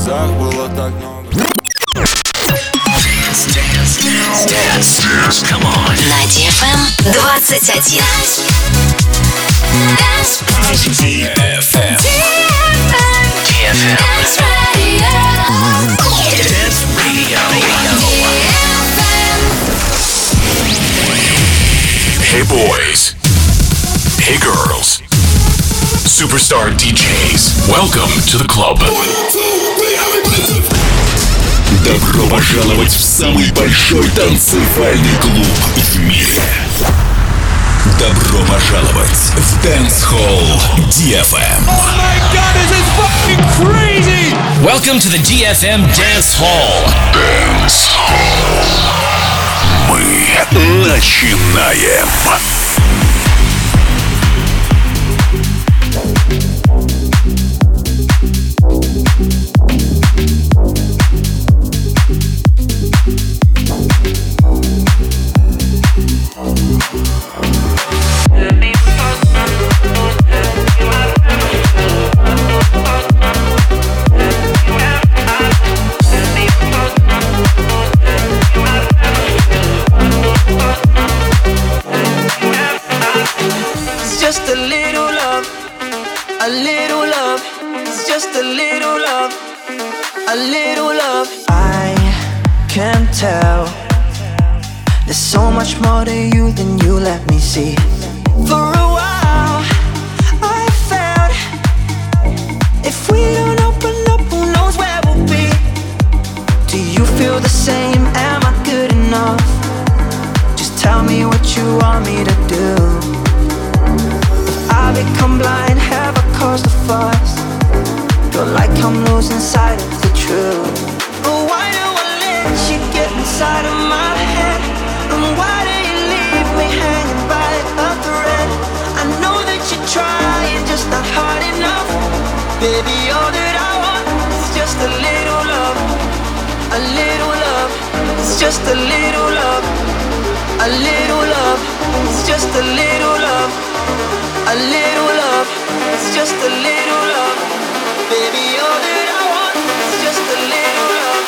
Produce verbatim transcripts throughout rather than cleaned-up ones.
глазах было так много. Dance, dance, dance, dance, come on. На ди эф эм двадцать один. ди эф эм. ди эф эм. Dance Radio. Hey boys. Hey girls. Superstar ди джейс. Welcome to the club. Добро пожаловать в самый большой танцевальный клуб в мире. Добро пожаловать в Dance Hall ди эф эм. Oh my god, this is fucking crazy! Welcome to the ди эф эм Dance Hall. Dance Hall. Мы начинаем. Tell there's so much more to you than you let me see. For a while I felt if we don't open up, who knows where we'll be. Do you feel the same? Am I good enough? Just tell me what you want me to do. If I become blind, have I caused a fuss? Feel like I'm losing sight of the truth. But why do I let you get inside of my head? And why do you leave me hanging by a thread? I know that you're trying, just not hard enough. Baby, all that I want is just a little love. A little love. It's just a little love. A little love. It's just a little love. A little love. It's just a little love. Baby, all that I want is just a little love.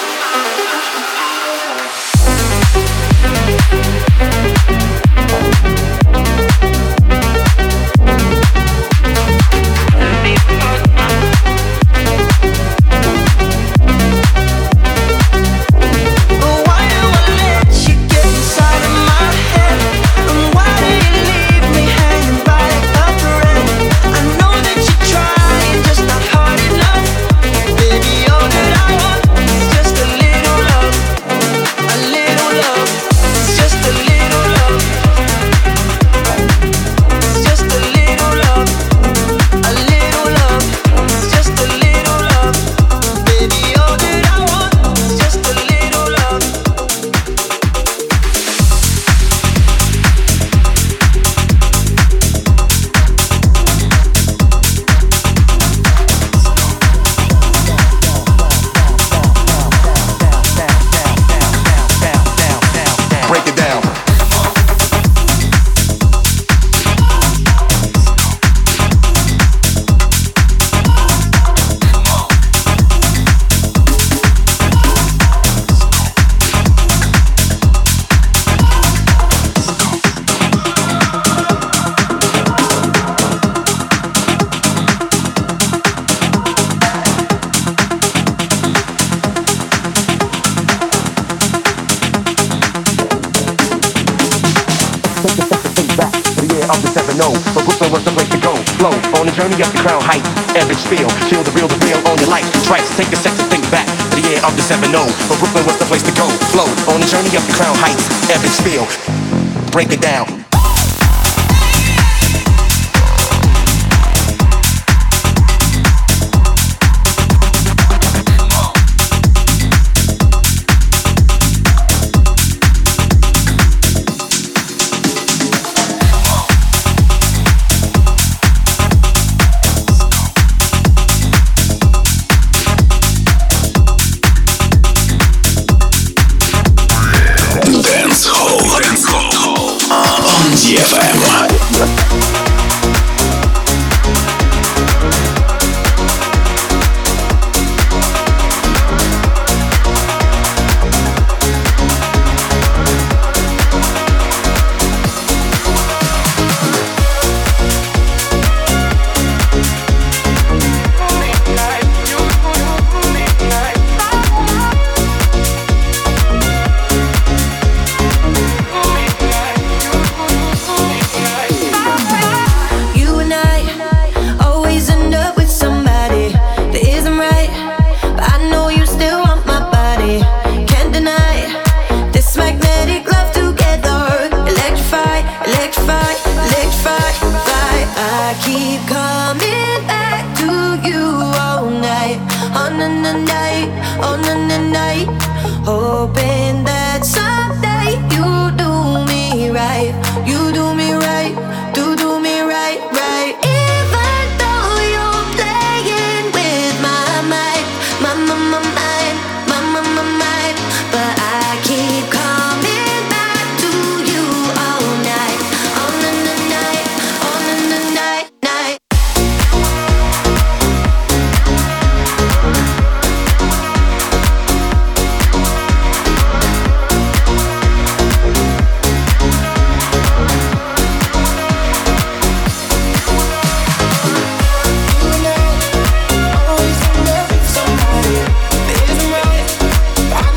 Journey up the crown heights, epic spiel. Feel the real, the real on your life. Tracks, take a second, think back to the year of the seven oh. But Brooklyn was the place to go. Flow on the journey up the crown heights, epic spiel. Break it down. Dance Hall. Dance Hall. night, oh na na night. Hoping that someday you do me right, you do me right, do do me right, right. Even though you're playing with my mind, my my my mind, my my my mind, but I keep coming back to you all night, all na na night, all na na night, night. Always in love with somebody. Isn't right. I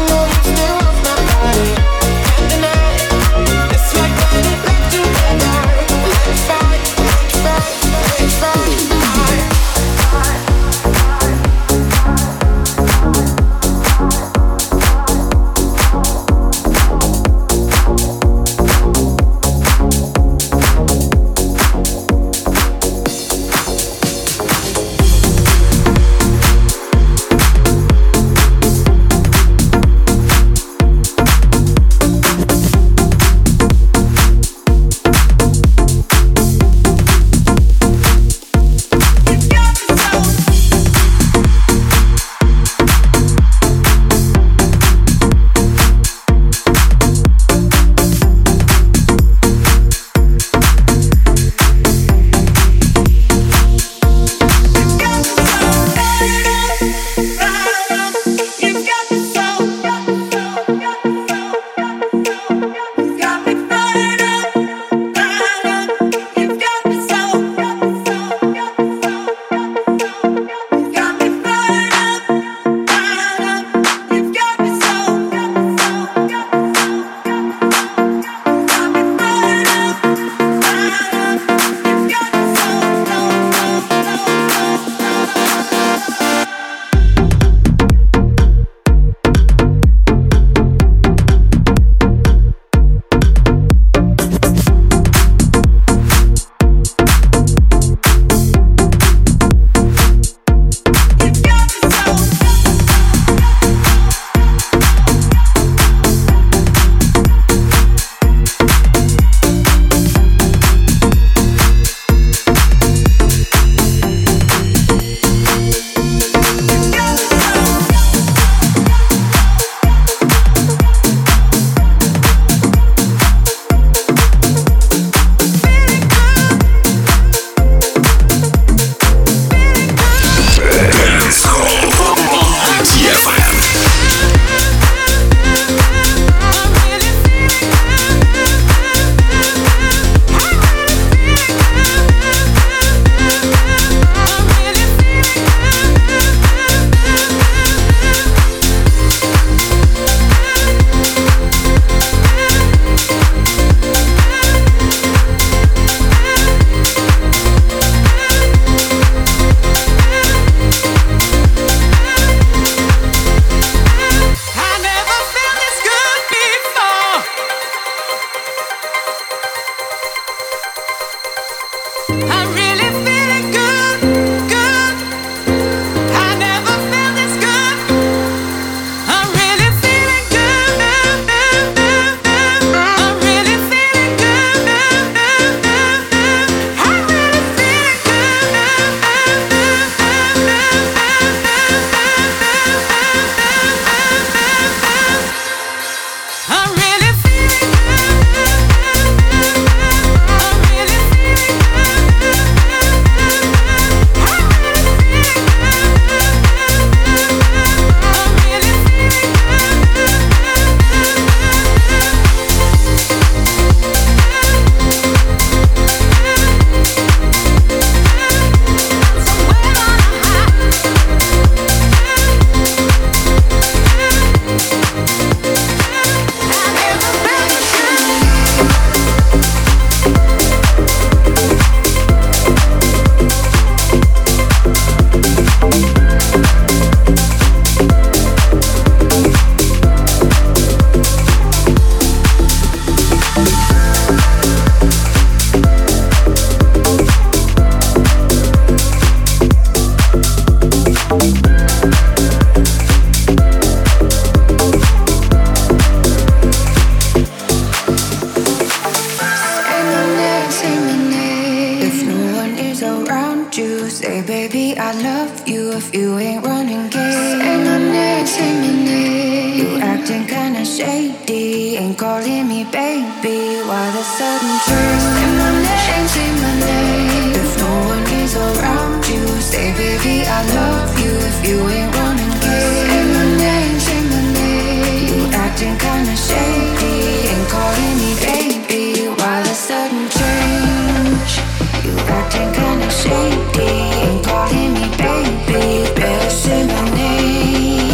if you ain't running game. Say my name, say my name. You acting kinda shady, ain't calling me baby. Why the sudden turn? Say my name, say my name. If no one is around you, say baby I love you if you ain't running game. Say my name, say my name. You acting kinda shady, ain't calling me baby. Why the sudden change? You acting kinda shady, ain't calling me baby. Better say my name.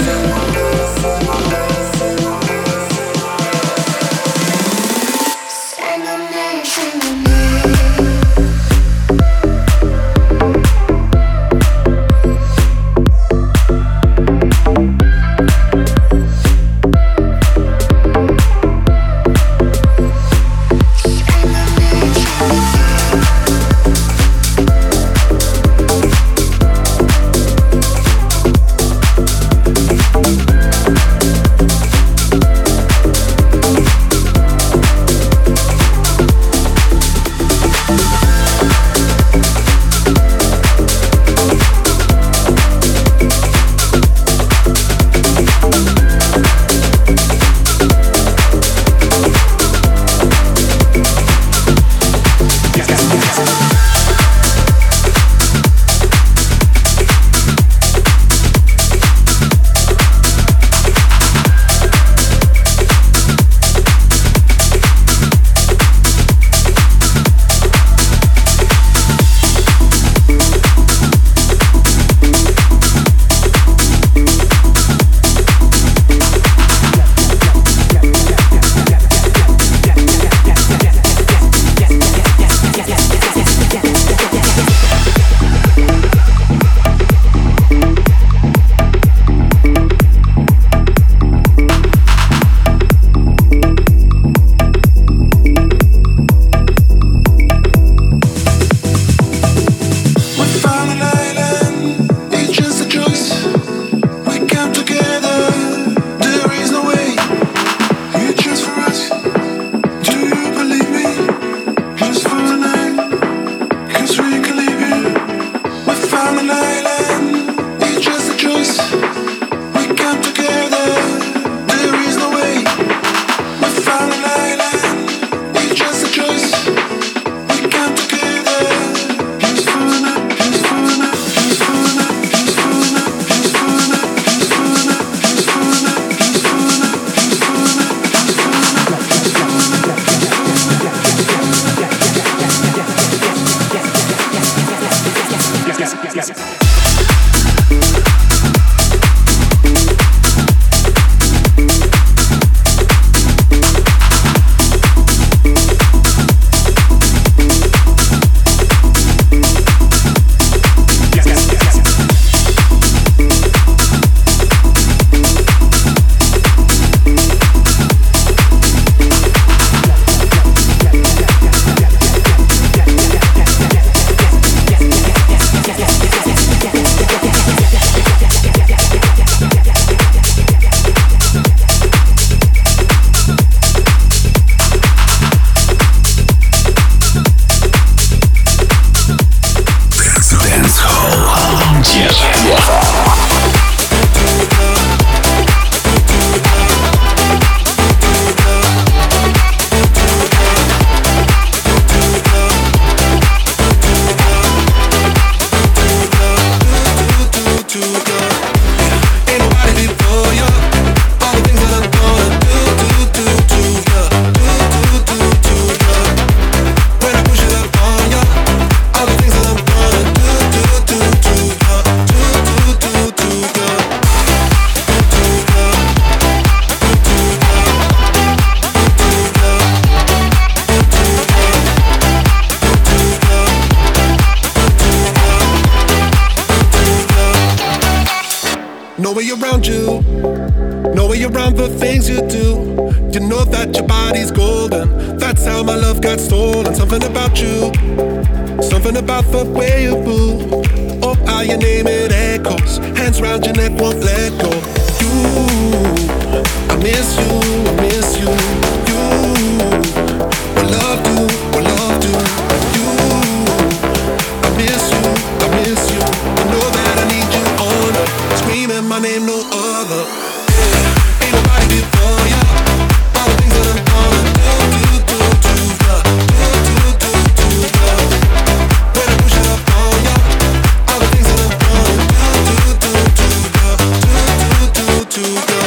Say my name, say my name. No way around you, no way around the things you do. You know that your body's golden. That's how my love got stolen. Something about you, something about the way you move. Oh, how you name it echoes. Hands round your neck, won't let go. You, I miss you, I miss you. You, what love do, what love do. You, I miss you, I miss you. I know that I need you. together. Yeah, ain't nobody before ya. All the things that I'm gonna do, do, do, do, ya. Do, do, do, do, ya. When I push it up on ya. All the things that I'm gonna do, do, do, do, ya. Do, do, do, do, ya.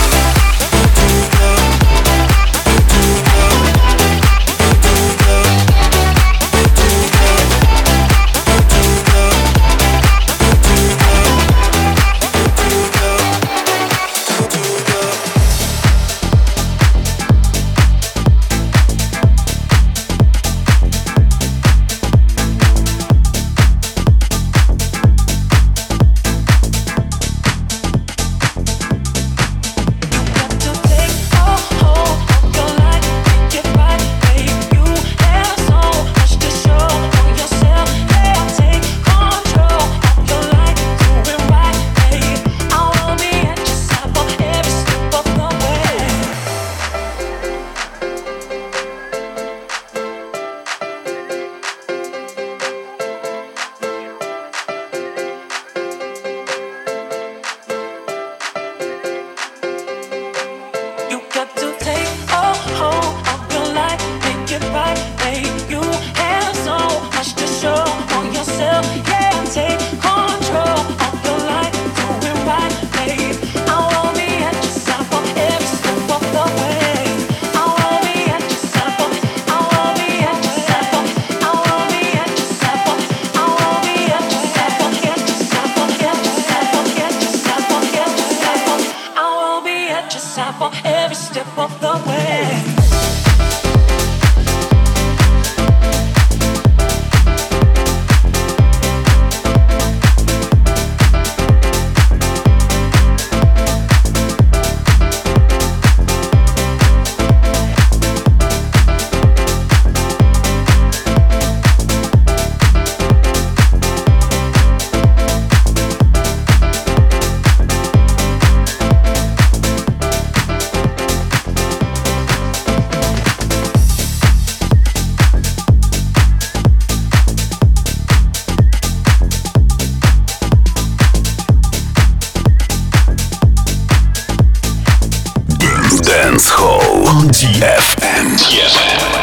ди эф эм. ди эф эм.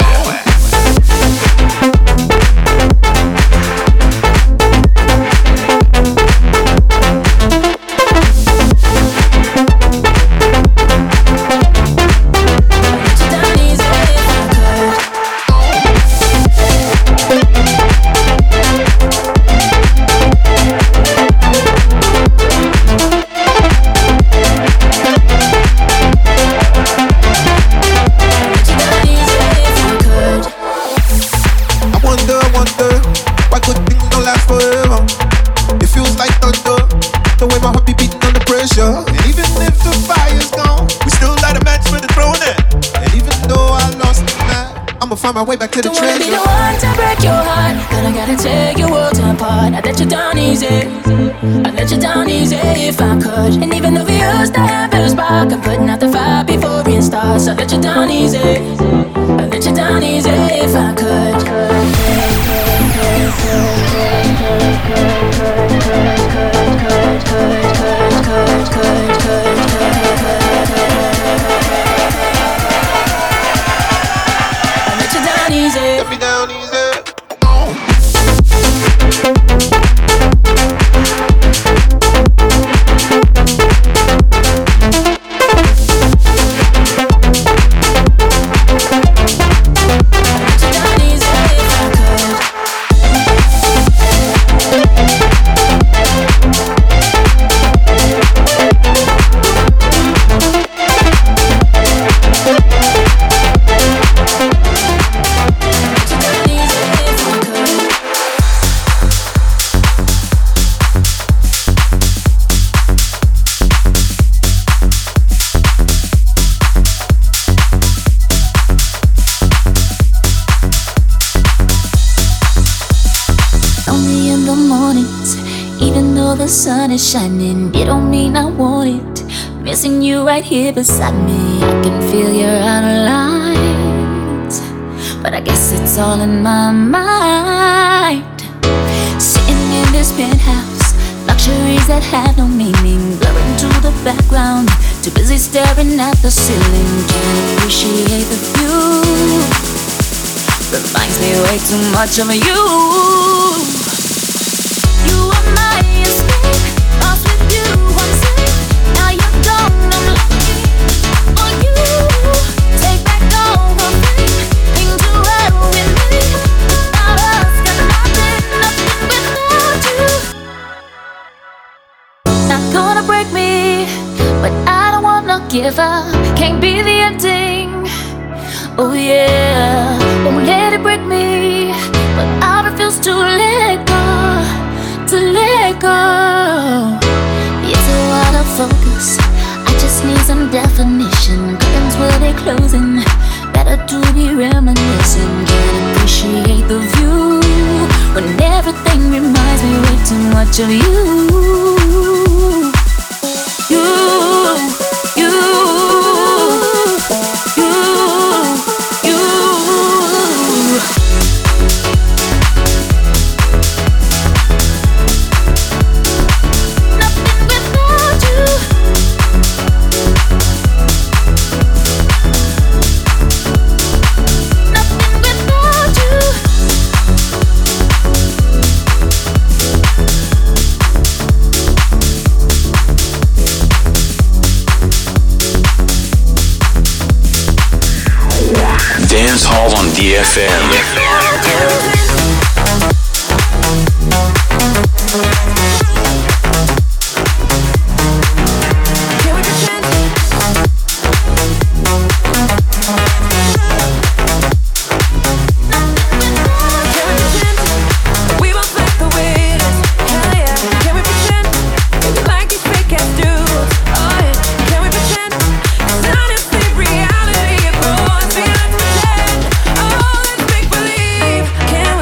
Find my way back to the Don't treasure. Don't wanna be the one to break your heart, but I gotta tear your world apart. I let you down easy, I let you down easy if I could. And even though we used to have a spark, I'm putting out the fire before it starts. I let you down easy, I let you down easy if I could. Let me down easy. The sun is shining, it don't mean I want it. Missing you right here beside me, I can feel you're out of line. But I guess it's all in my mind. Sitting in this penthouse, Memories that have no meaning, blurring to the background. Too busy staring at the ceiling, can't appreciate the view. Reminds me way too much of you. You are my escape, lost with you, I'm safe. Now you're gone, I'm lonely for you. Take back all the things to hell with me. Without us, got nothing, nothing without you. Not gonna break me, but I don't wanna give up. Can't be the ending. Oh yeah, won't let it break me, but I refuse to let go, to let go. It's a lot of focus, I just need some definition. Curtains will be closing, better to be reminiscing. Can't appreciate the view when everything reminds me way too much of you. You, you, you, you. Nothing without you. Nothing without you. Dance Hall on D F M. Reality, oh, let's pretend. Oh, let's make believe. Can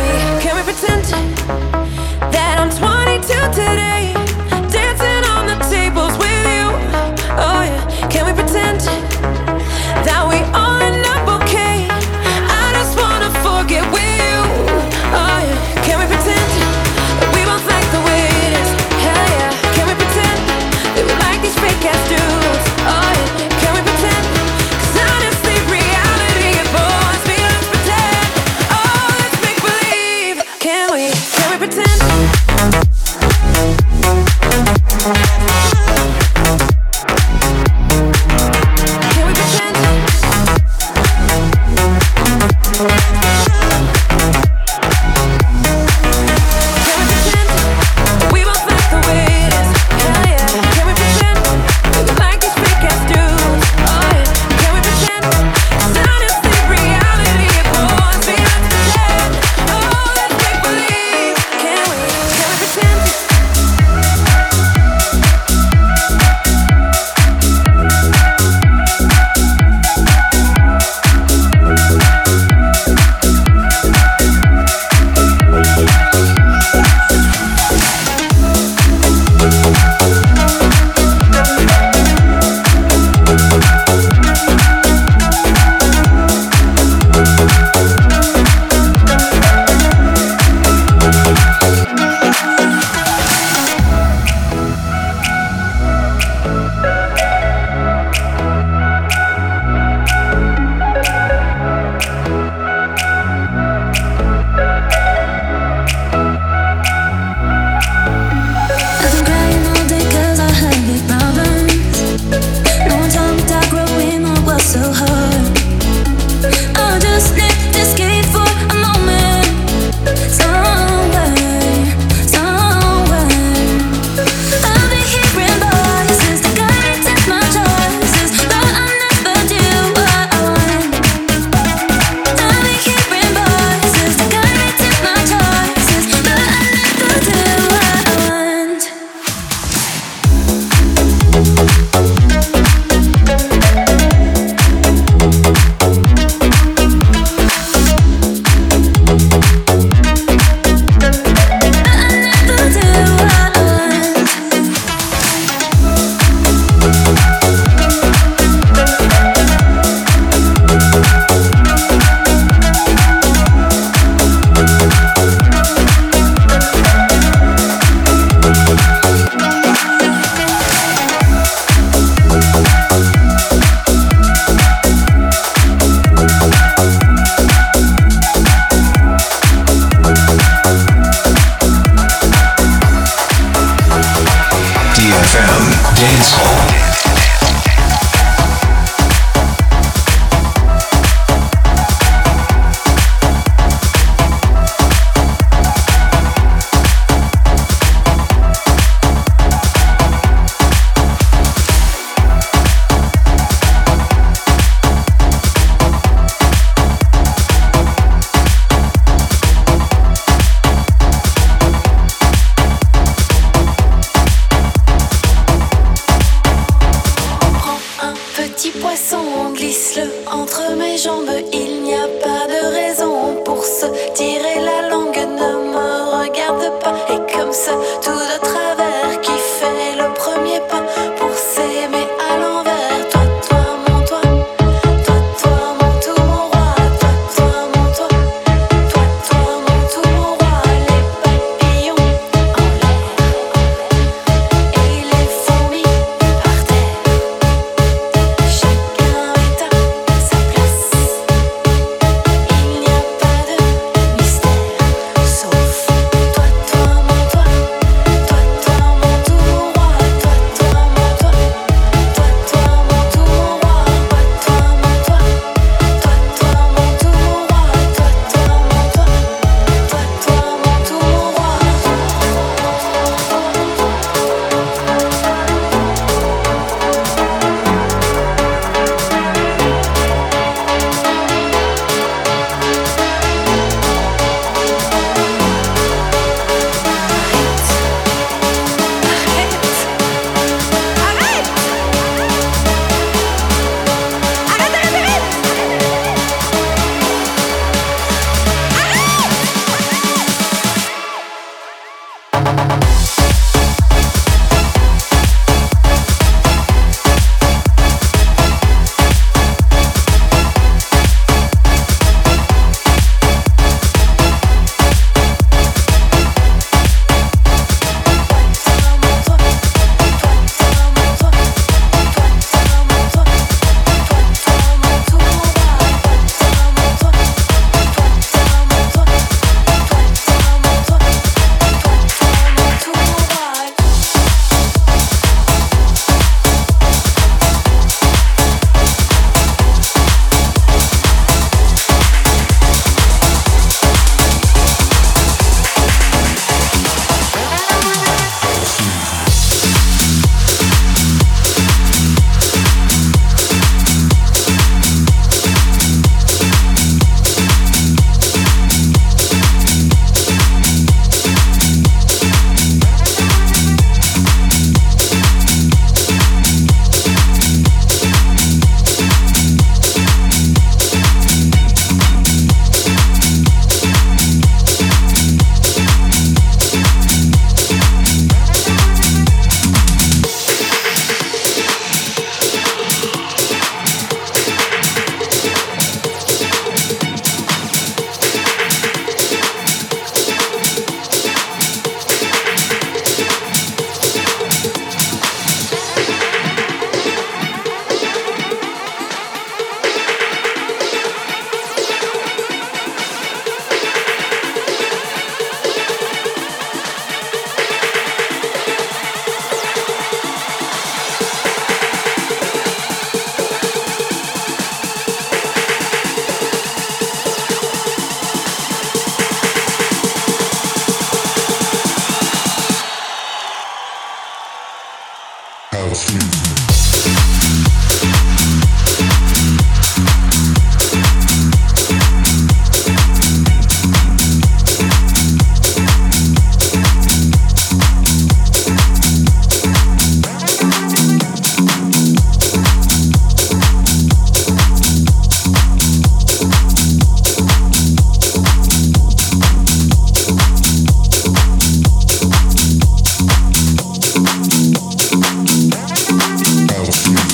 House music.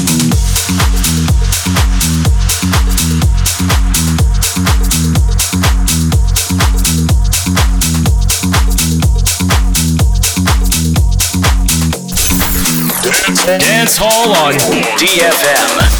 Dance Hall on D F M.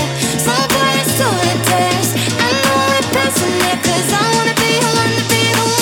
Cause I wanna be, I wanna be the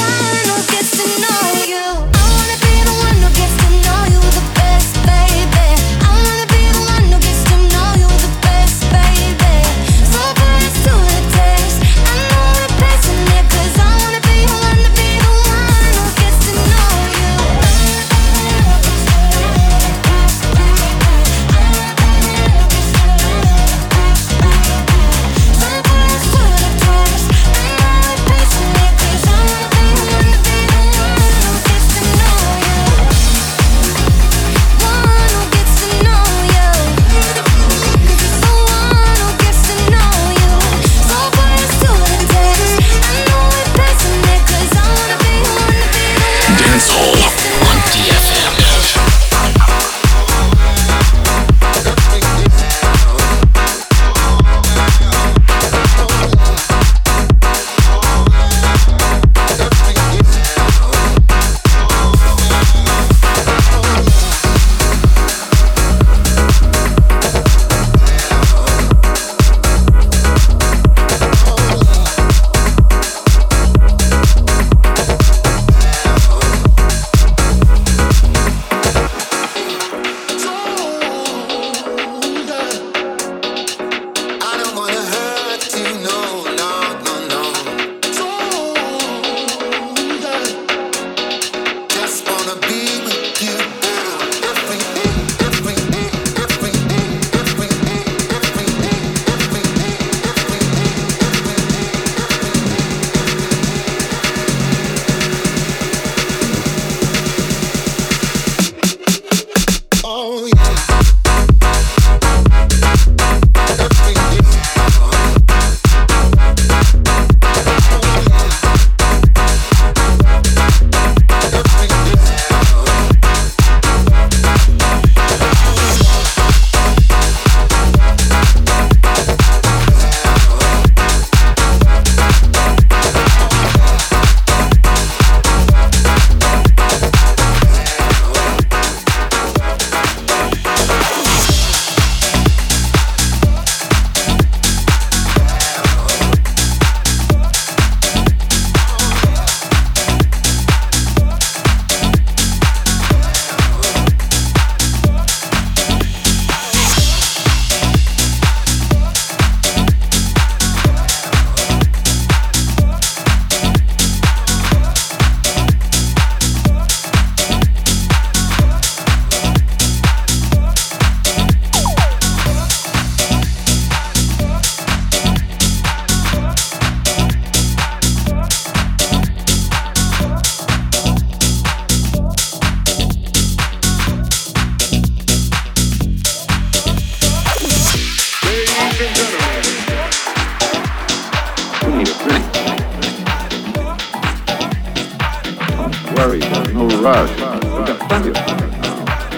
worry, there's no rush. We've got plenty of time now.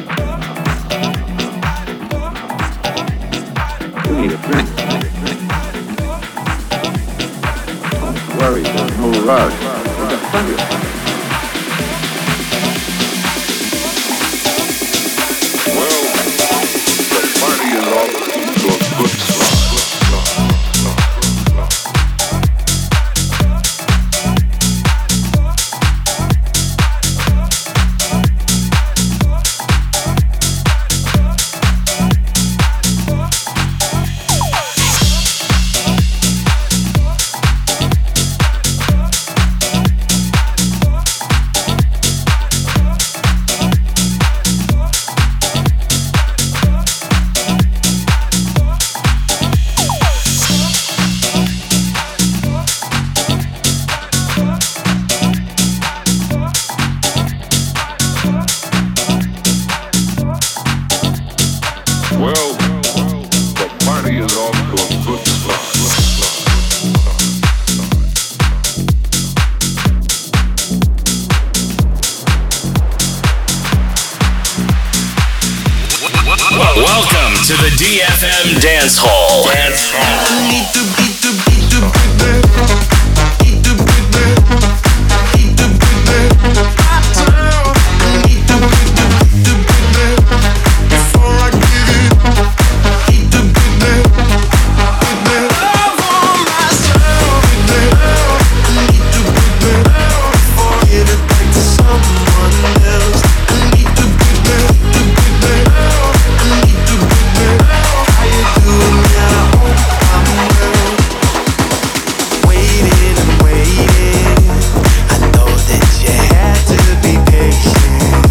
You need a drink. Don't worry, there's no rush. We've got plenty of time. Well, the party is off to a good start. Welcome to the D F M Dance Hall. Dance Hall. I need to beat the beat the beat the beat the beat the beat the beat the I need to beat the beat the beat the before I give it. Beat the beat the beat the love on myself. I need to beat the before I give it back to someone else. I need to beat the beat the I need to beat the how you doing now? I'm well. Waiting and waiting. I know that you had to be patient.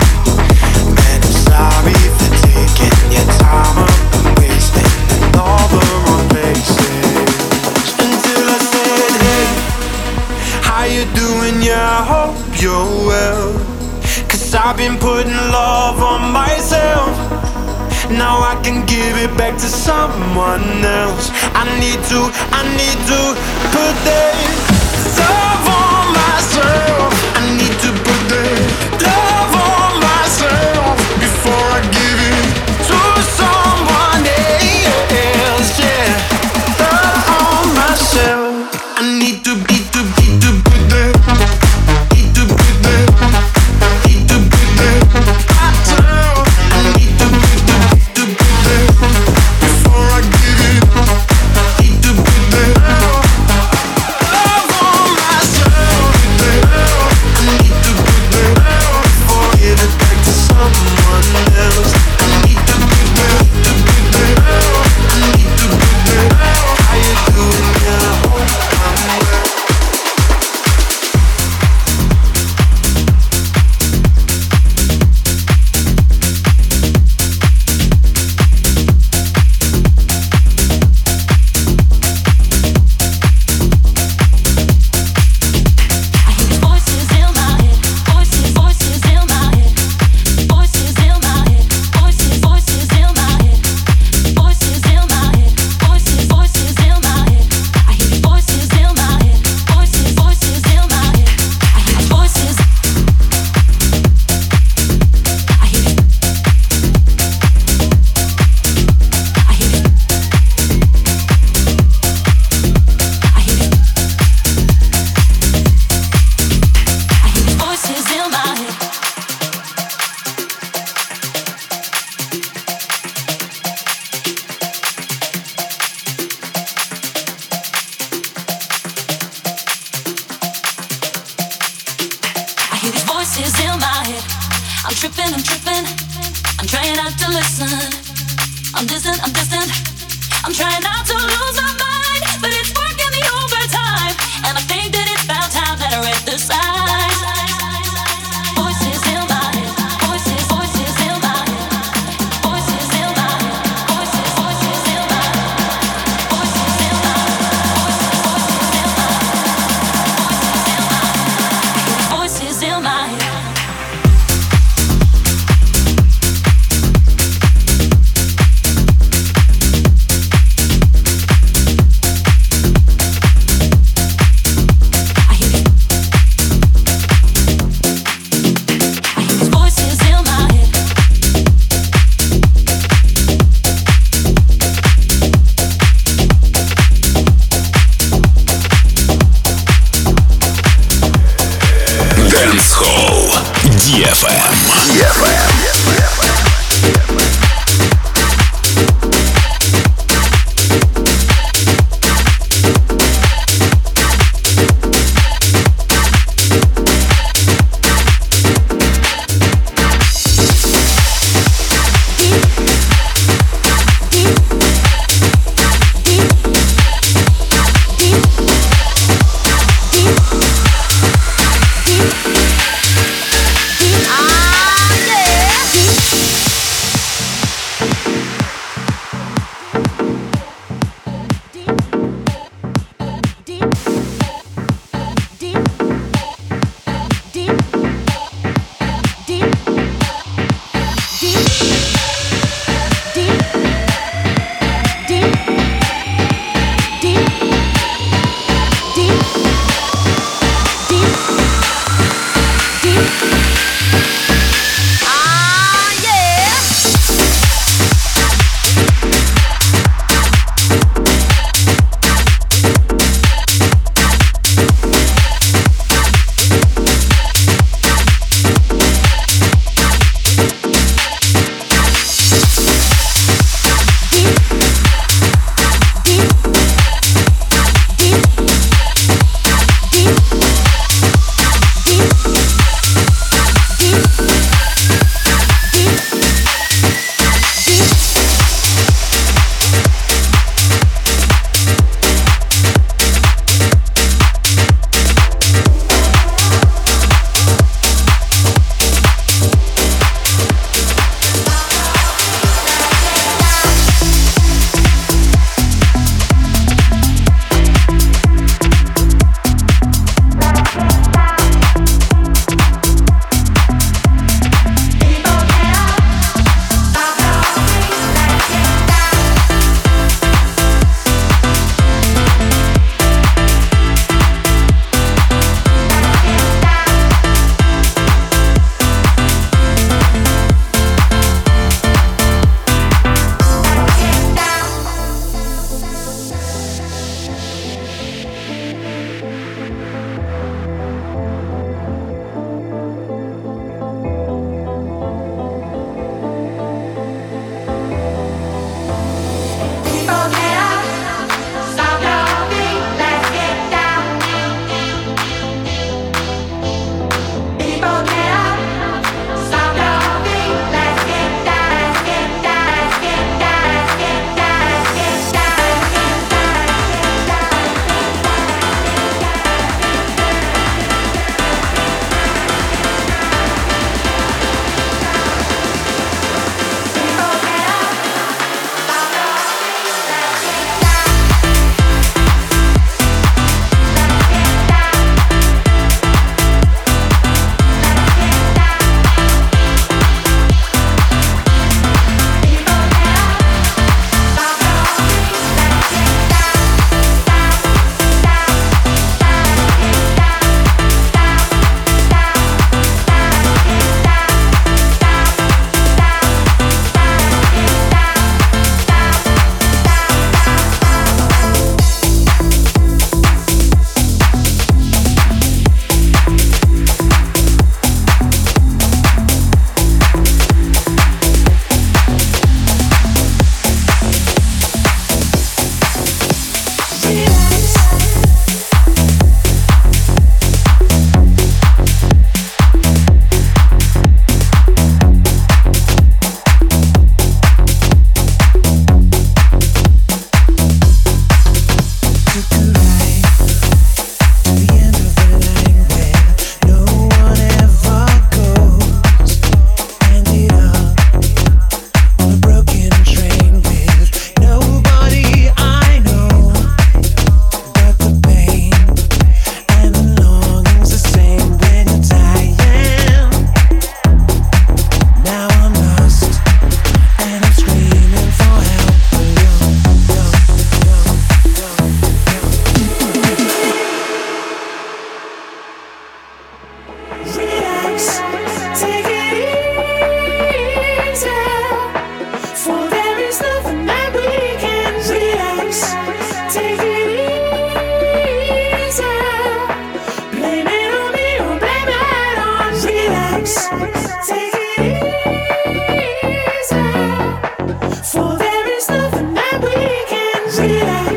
Man, I'm sorry for taking your time up and wasting in all the wrong places. Until I said, hey, how you doing? Yeah, I hope you're well. Cause I've been putting love on myself. Now I can give it back to someone else. I need to, I need to put that love on myself. I need to put that love on myself before I give it to someone else. Yeah, love on myself. I need to beat the beat the put that beat the put that beat the put that myself. I need to beat the before I give it, need to put that love on myself. I need to put that before I give it back to someone else. I need to put that, to put that. I need to put that. How you doing now? I'm well.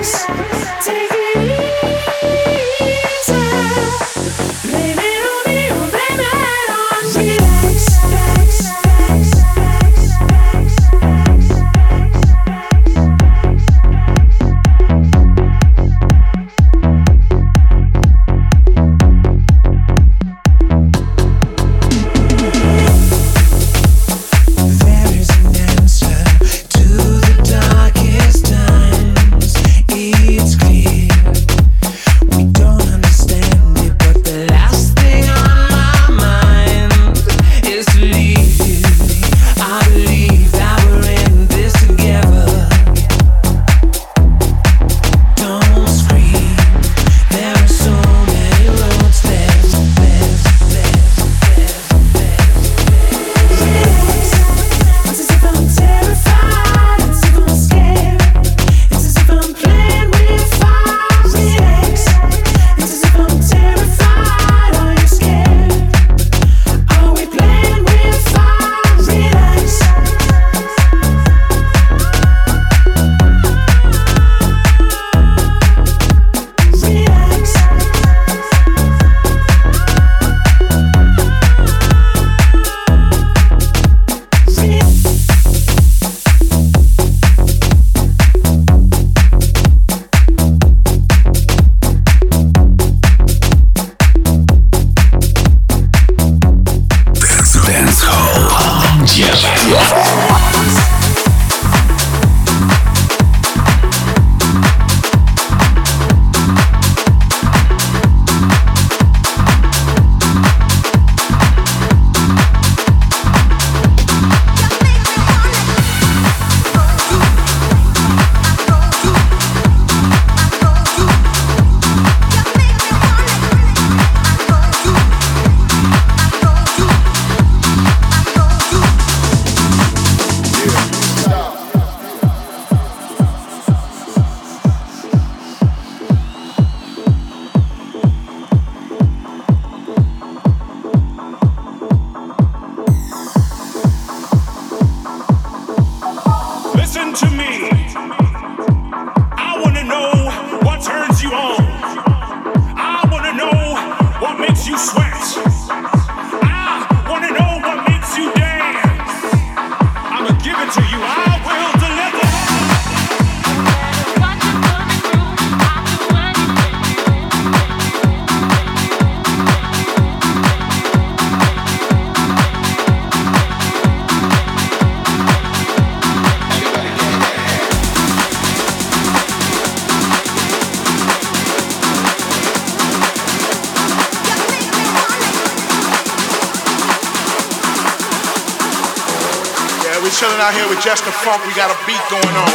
Chilling out here with Just the Funk, we got a beat going on.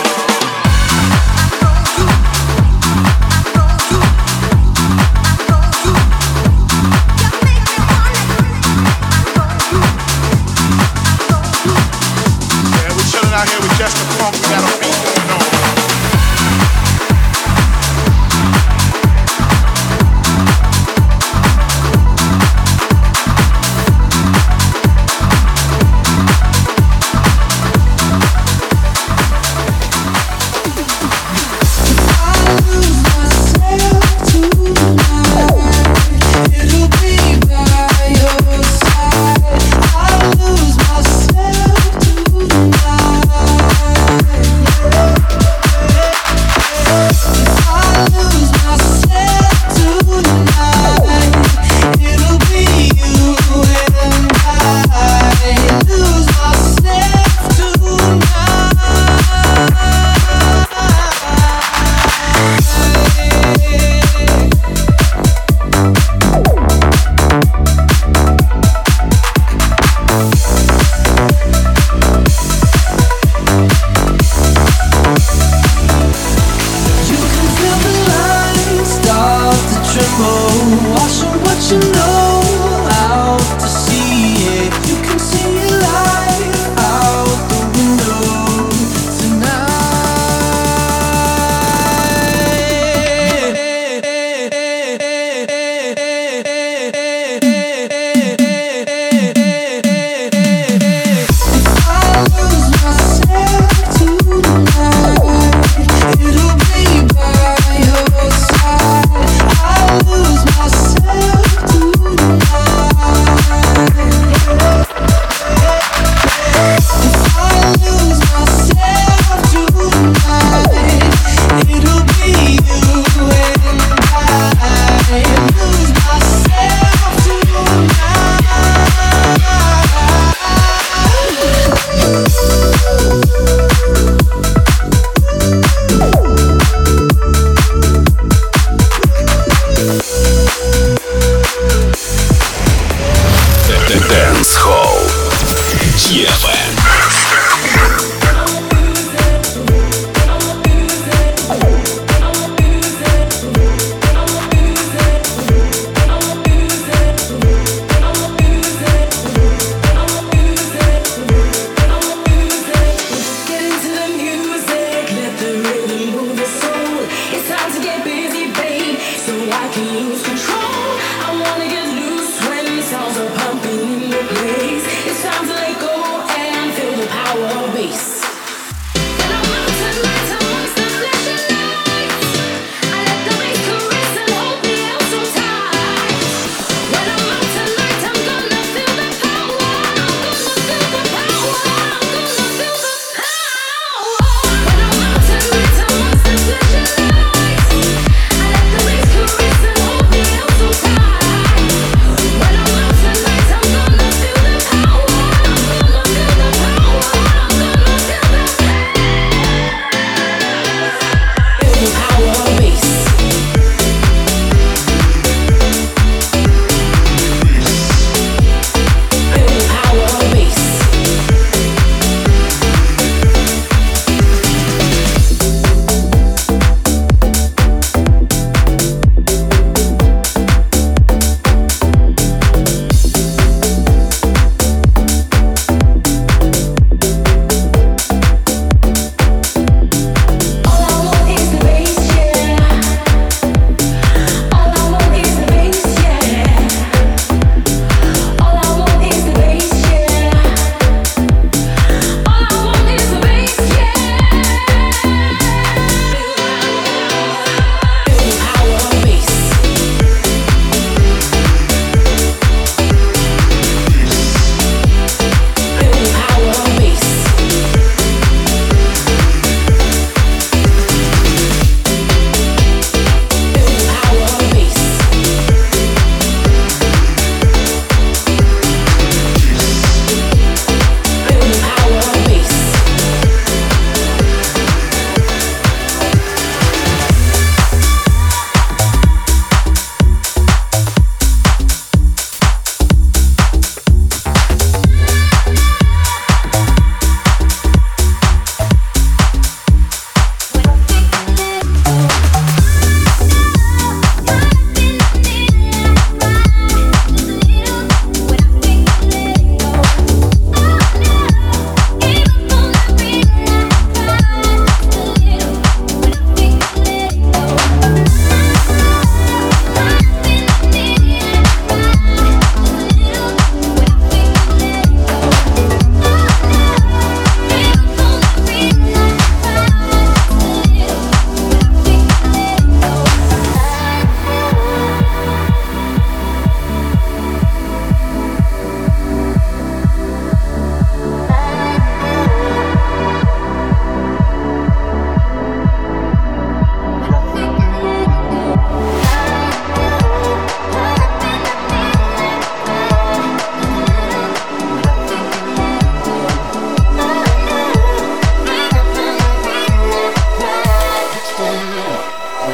Yeah, we're chilling out here with Just the Funk, we got a beat going on.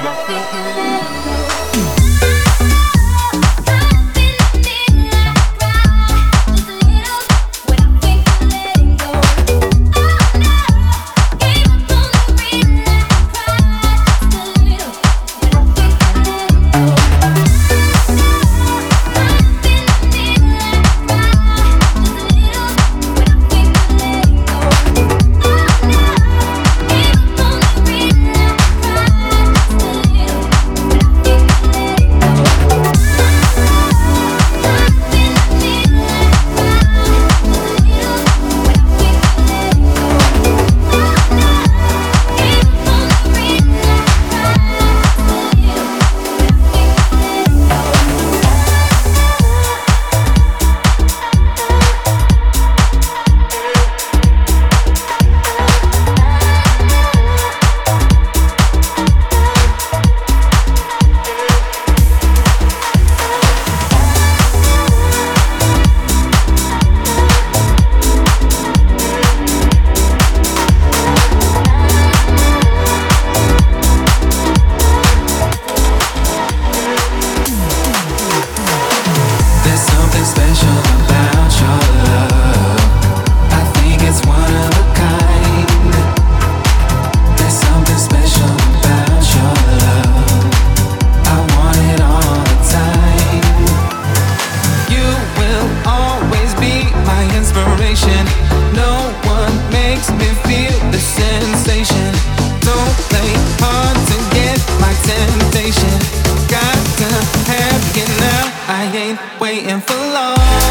waiting for long.